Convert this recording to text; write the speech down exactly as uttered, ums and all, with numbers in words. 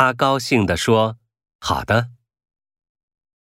他高兴地说：“好的。”